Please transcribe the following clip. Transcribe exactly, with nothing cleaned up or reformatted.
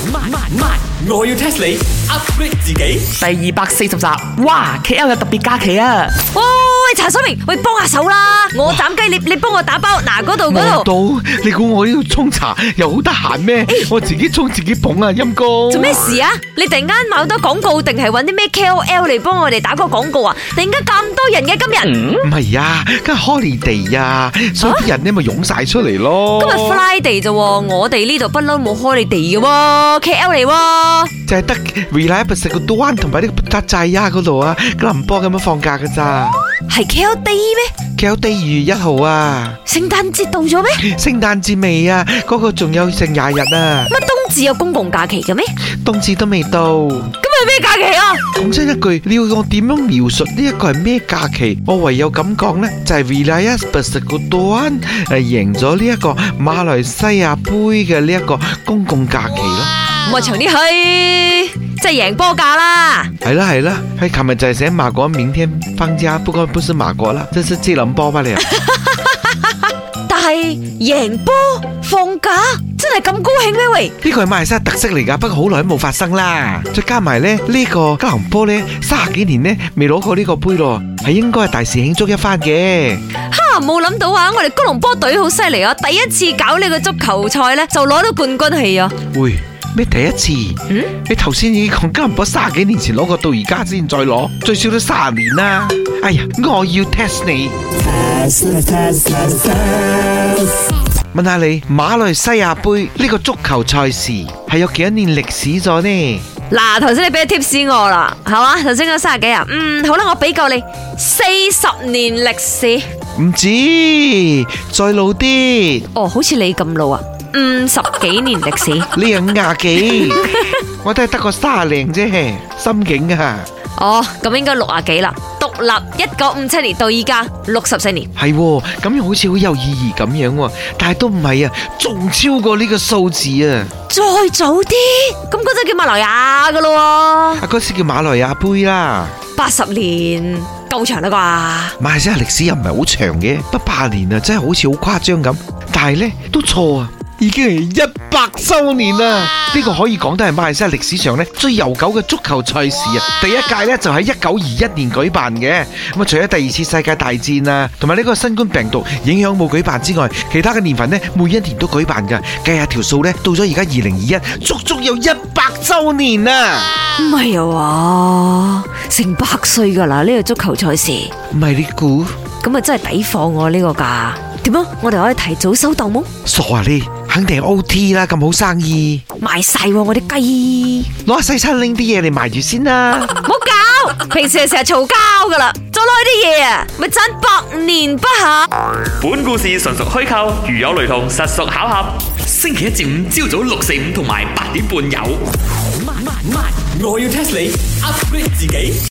慢慢慢，我要 test 你 upgrade 自己。 第二百四十集，哇 ！K L 有特別假期啊！ 喂喂，茶水明，喂幫下手啦！我斬雞，你你幫我打包，嗱嗰度嗰度。 到你估我呢度沖茶又好得閒咩？我自己沖自己捧啊，陰公。 做咩事啊？你突然間買好多廣告，定係搵啲咩 K O L 嚟幫我哋打個廣告啊？突然間咁多人嘅今日？ 唔係啊，今日 holiday 啊，所以啲人咧咪湧晒出嚟咯。 今日 Friday 啫，我哋呢度不嬲冇 holiday 嘅喎 ，K L 嚟喎。 就係得 Reliable 食個多灣同埋呢個塔寨呀嗰度啊，吉隆坡咁樣放假噶咋？ 係 K L Day 咩 ？K L Day 二月一號啊！ 聖誕節到咗咩？ 聖誕節未啊？嗰個仲有成廿日啊！ 乜冬至有公共假期嘅咩？ 冬至都未到。 咁係咩假期啊？ 講真一句，你要我點樣描述呢一個係咩假期？我唯有咁講呢，就係 Reliable 食個多灣誒贏咗呢一個馬來西亞杯嘅呢一個公共假期咯。 咁我長啲去，即係贏波價啦。 係啦係啦，喺琴日就係寫馬國明天放假，不過不是馬國啦，這是吉隆坡吧你？ 但係贏波放假真係咁高興咩？喂， 呢個係馬來西亞特色嚟噶，不過好耐都冇發生啦。再加埋咧呢個吉隆坡咧，三十幾年咧未攞過呢個杯咯，係應該係大事慶祝一番嘅。 哈，冇諗到啊！我哋吉隆坡隊好犀利啊！第一次搞呢個足球賽咧，就攞到冠軍氣啊！ 喂，咩第一次？嗯，你頭先已經講吉隆坡三十幾年前攞過，到而家先再攞，最少都三十年啦。哎呀，我要 test 你。問下你，馬來西亞杯呢個足球賽事係有幾多年歷史咗呢？ 嗱，頭先你俾咗 tips 我啦，係嘛？頭先嗰三十幾啊，嗯，好啦，我俾夠你四十年歷史。 唔止，再老啲。 哦，好似你咁老啊，五十幾年歷史。 你有五廿幾，我都係得個卅零啫，心境啊。 哦，咁應該六啊幾啦。獨立一九五七年到依家六十四年， 係咁樣好似好有意義咁樣，但係都唔係啊，仲超過呢個數字啊！ 再早啲，咁嗰陣叫馬來亞噶咯， 啊嗰時叫馬來亞杯啦， 八十年夠長啦啩？ 馬來西亞歷史又唔係好長嘅，不八年啊，真係好似好誇張咁，但係咧都錯啊！已經係一百周年啦！呢個可以講得係馬來西亞歷史上咧最悠久嘅足球賽事啊！第一屆咧就喺一九二一年舉辦嘅。咁啊，除咗第二次世界大戰啊，同埋呢個新冠病毒影響冇舉辦之外，其他嘅年份咧每一年都舉辦噶。計下條數咧，到咗而家二零二一，足足有一百周年啊！ 唔係啊話，成百歲噶啦呢個足球賽事。 唔係你估？ 咁啊真係抵放我呢個價。點啊？我哋可以提早收檔冇？ 傻啊你！肯定係 O T 啦，咁好生意賣晒我啲雞， 攞下西餐拎啲嘢嚟賣住先啦。 唔好搞，平時係成日嘈交噶啦，再攞啲嘢啊，咪賺百年不暇。 本故事純屬虛構，如有雷同，實屬巧合。星期一至五朝早六四五同埋八點半有。慢慢慢，我要 test 你 upgrade 自己。